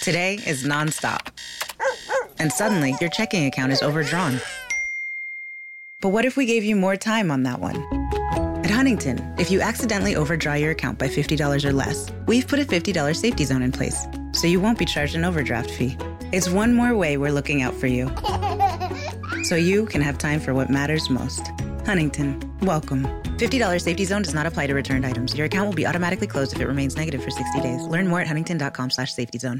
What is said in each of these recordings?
Today is nonstop. And suddenly, your checking account is overdrawn. But what if we gave you more time on that one? At Huntington, if you accidentally overdraw your account by $50 or less, we've put a $50 safety zone in place, so you won't be charged an overdraft fee. It's one more way we're looking out for you, so you can have time for what matters most. Huntington, welcome. $50 safety zone does not apply to returned items. Your account will be automatically closed if it remains negative for 60 days. Learn more at huntington.com/safety zone.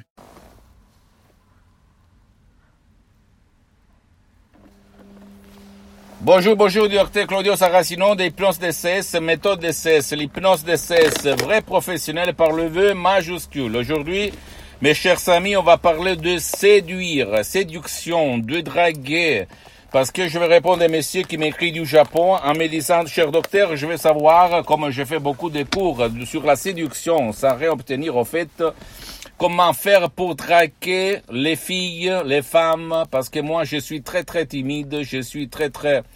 Bonjour, docteur Claudio Saracino d'Hypnose DCS, méthode DCS, l'hypnose DCS, vrai professionnel par le vœu majuscule. Aujourd'hui, mes chers amis, on va parler de séduire, séduction, de draguer. Parce que je vais répondre à messieurs qui m'écrit du Japon en me disant, cher docteur, je veux savoir, comme je fais beaucoup de cours sur la séduction, sans rien obtenir au fait, comment faire pour draguer les filles, les femmes, parce que moi je suis très très timide, je suis très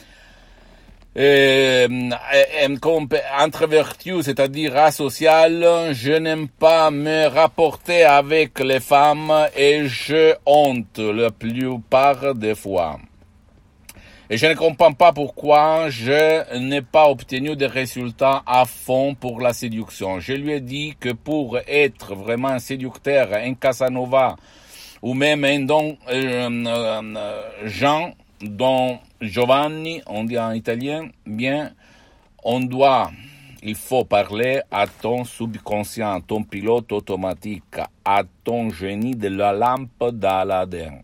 introverti, c'est-à-dire asocial, je n'aime pas me rapporter avec les femmes et je honte la plupart des fois. Et je ne comprends pas pourquoi je n'ai pas obtenu des résultats à fond pour la séduction. Je lui ai dit que pour être vraiment un séducteur, un Casanova, ou même un Jean, Don Giovanni, on dit en italien, bien, il faut parler à ton subconscient, à ton pilote automatique, à ton génie de la lampe d'Aladin.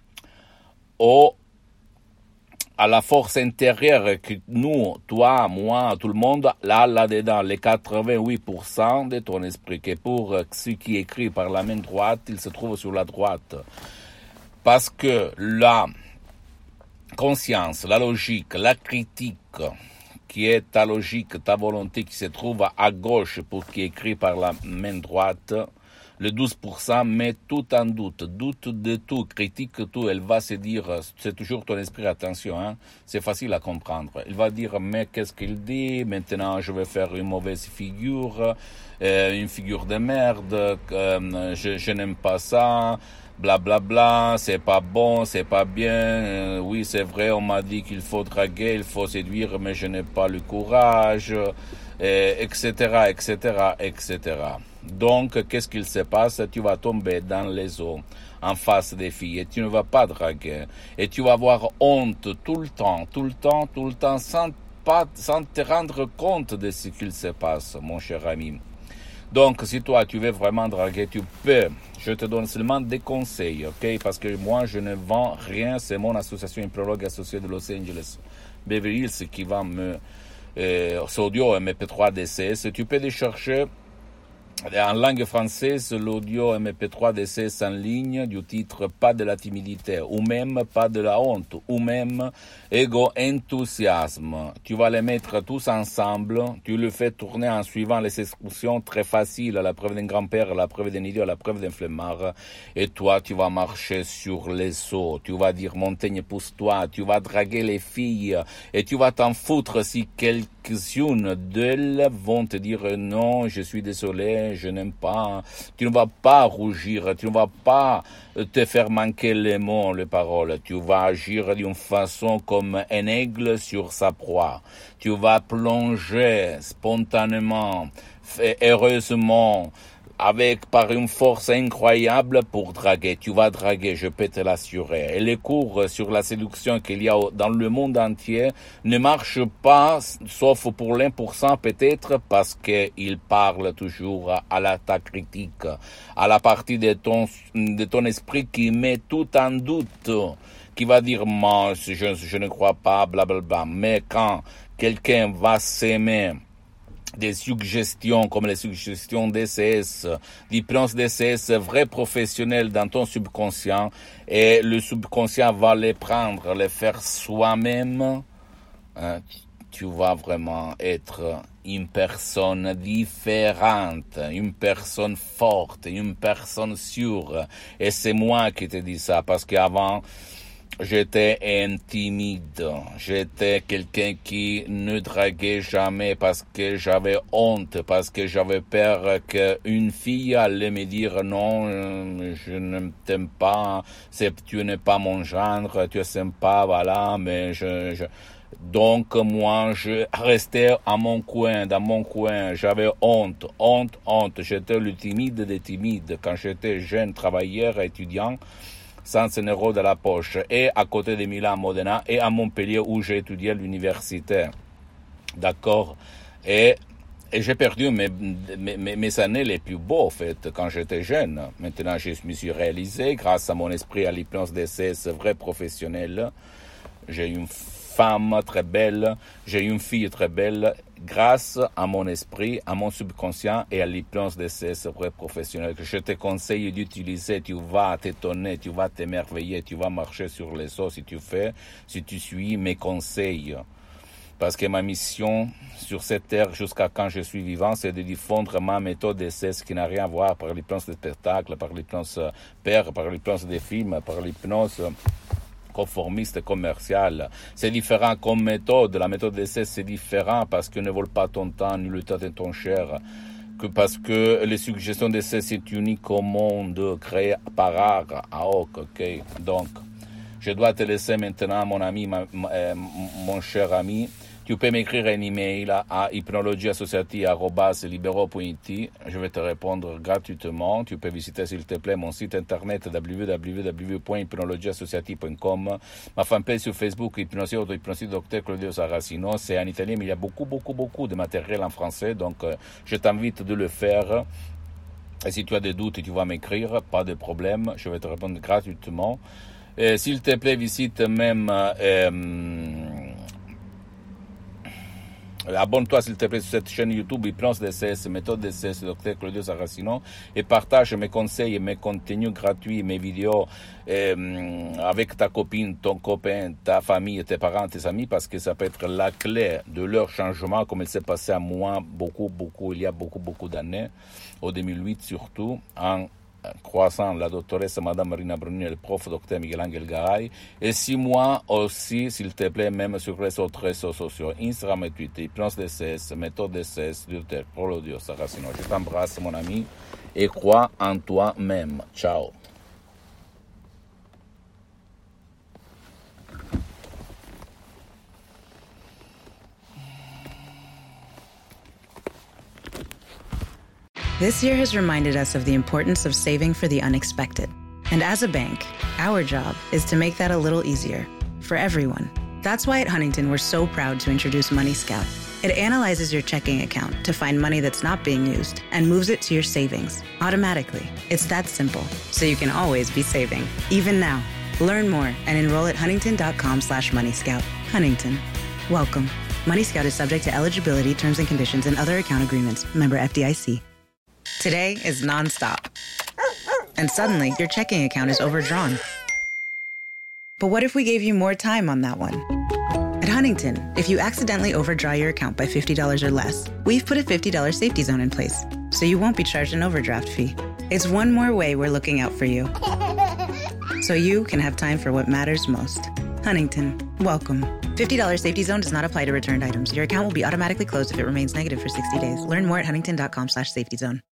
À la force intérieure que nous, toi, moi, tout le monde, là-dedans, les 88% de ton esprit, que pour ce qui est écrit par la main droite, il se trouve sur la droite. Parce que la conscience, la logique, la critique, qui est ta logique, ta volonté, qui se trouve à gauche pour ce qui est écrit par la main droite, le 12% met tout en doute de tout, critique tout, elle va se dire, c'est toujours ton esprit, attention, hein, c'est facile à comprendre. Il va dire, mais qu'est-ce qu'il dit, maintenant je vais faire une mauvaise figure, une figure de merde, je n'aime pas ça, blablabla, bla bla, c'est pas bon, c'est pas bien, oui c'est vrai, on m'a dit qu'il faut draguer, il faut séduire, mais je n'ai pas le courage, etc., etc., etc. Donc, qu'est-ce qu'il se passe? Tu vas tomber dans les eaux en face des filles et tu ne vas pas draguer. Et tu vas avoir honte tout le temps, sans te rendre compte de ce qu'il se passe, mon cher ami. Donc, si toi, tu veux vraiment draguer, tu peux. Je te donne seulement des conseils, ok? Parce que moi, je ne vends rien. C'est mon association Hypnologue associée de Los Angeles, Beverly Hills, qui vend ce audio MP3 DCS. Tu peux les chercher en langue française, l'audio MP3 DCS en ligne du titre Pas de la timidité, ou même Pas de la honte, ou même Ego enthousiasme. Tu vas les mettre tous ensemble, tu le fais tourner en suivant les instructions très faciles, la preuve d'un grand-père, la preuve d'un idiot, la preuve d'un flemmard, et toi tu vas marcher sur les eaux, tu vas dire montagne pousse-toi, tu vas draguer les filles, et tu vas t'en foutre si quelques-unes d'elles vont te dire non, je suis désolé, je n'aime pas, tu ne vas pas rougir, tu ne vas pas te faire manquer les mots, les paroles, tu vas agir d'une façon comme un aigle sur sa proie, tu vas plonger spontanément, heureusement, par une force incroyable pour draguer. Tu vas draguer, je peux te l'assurer. Et les cours sur la séduction qu'il y a dans le monde entier ne marchent pas, sauf pour l'1% peut-être, parce qu'ils parlent toujours à ta critique, à la partie de ton esprit qui met tout en doute, qui va dire, moi, je ne crois pas, blablabla. Mais quand quelqu'un va s'aimer, des suggestions comme les suggestions DCS, d'hypnose DCS vrai professionnel dans ton subconscient, et le subconscient va les prendre, les faire soi-même, hein, tu vas vraiment être une personne différente, une personne forte, une personne sûre. Et c'est moi qui te dis ça, parce qu'avant, J'étais intimide. J'étais quelqu'un qui ne draguait jamais parce que j'avais honte, parce que j'avais peur qu'une fille allait me dire non, je ne t'aime pas, tu n'es pas mon genre, tu es sympa, voilà, mais donc moi je restais à mon coin, dans mon coin, j'avais honte. J'étais le timide des timides quand j'étais jeune travailleur, étudiant, sans un euro de la poche, et à côté de Milan, Modena, et à Montpellier où j'ai étudié à l'université. D'accord? Et j'ai perdu mes années les plus beaux, en fait, quand j'étais jeune. Maintenant, je me suis réalisé, grâce à mon esprit à l'hypnose DCS vrai professionnel. J'ai une femme très belle, j'ai une fille très belle, grâce à mon esprit, à mon subconscient et à l'hypnose de ces vrais professionnels que je te conseille d'utiliser. Tu vas t'étonner, tu vas t'émerveiller, tu vas marcher sur les os si tu suis mes conseils. Parce que ma mission sur cette terre, jusqu'à quand je suis vivant, c'est de diffondre ma méthode d'essai, qui n'a rien à voir par l'hypnose de spectacle, par l'hypnose père, par l'hypnose des films, par l'hypnose conformiste commercial. C'est différent comme méthode. La méthode d'essai, c'est différent parce que ne vole pas ton temps ni le temps de ton cher. Parce que les suggestions d'essai, c'est unique au monde, créé par art, à hoc, ok? Donc, je dois te laisser maintenant, mon ami, mon cher ami. Tu peux m'écrire un email à hypnologieassociative@libero.it. Je vais te répondre gratuitement. Tu peux visiter, s'il te plaît, mon site internet www.hypnologieassociative.com. Ma fanpage sur Facebook, Hypnosie Dr Claudio Saracino. C'est en italien, mais il y a beaucoup de matériel en français. Donc, je t'invite de le faire. Et si tu as des doutes, tu vas m'écrire. Pas de problème. Je vais te répondre gratuitement. S'il te plaît, visite même... abonne-toi s'il te plaît sur cette chaîne YouTube Hypnose DCS, méthode DCS, Dr Claudio Saracino, et partage mes conseils et mes contenus gratuits, mes vidéos avec ta copine, ton copain, ta famille, tes parents, tes amis, parce que ça peut être la clé de leur changement, comme il s'est passé à moi il y a beaucoup d'années, au 2008 surtout, en croissant la doctoresse Madame Marina Bruni et le prof Dr Miguel-Angel Garay, et 6 mois aussi, s'il te plaît, même sur les autres réseaux sociaux, Instagram et Twitter, Hypnose DCS, méthode DCS, Dr Claudio Saracino. Je t'embrasse, mon ami, et crois en toi-même. Ciao. This year has reminded us of the importance of saving for the unexpected. And as a bank, our job is to make that a little easier for everyone. That's why at Huntington, we're so proud to introduce Money Scout. It analyzes your checking account to find money that's not being used and moves it to your savings automatically. It's that simple, so you can always be saving, even now. Learn more and enroll at huntington.com/moneyscout. Huntington, welcome. Money Scout is subject to eligibility, terms and conditions, and other account agreements. Member FDIC. Today is nonstop. And suddenly, your checking account is overdrawn. But what if we gave you more time on that one? At Huntington, if you accidentally overdraw your account by $50 or less, we've put a $50 safety zone in place, so you won't be charged an overdraft fee. It's one more way we're looking out for you, so you can have time for what matters most. Huntington, welcome. $50 safety zone does not apply to returned items. Your account will be automatically closed if it remains negative for 60 days. Learn more at huntington.com/safety zone.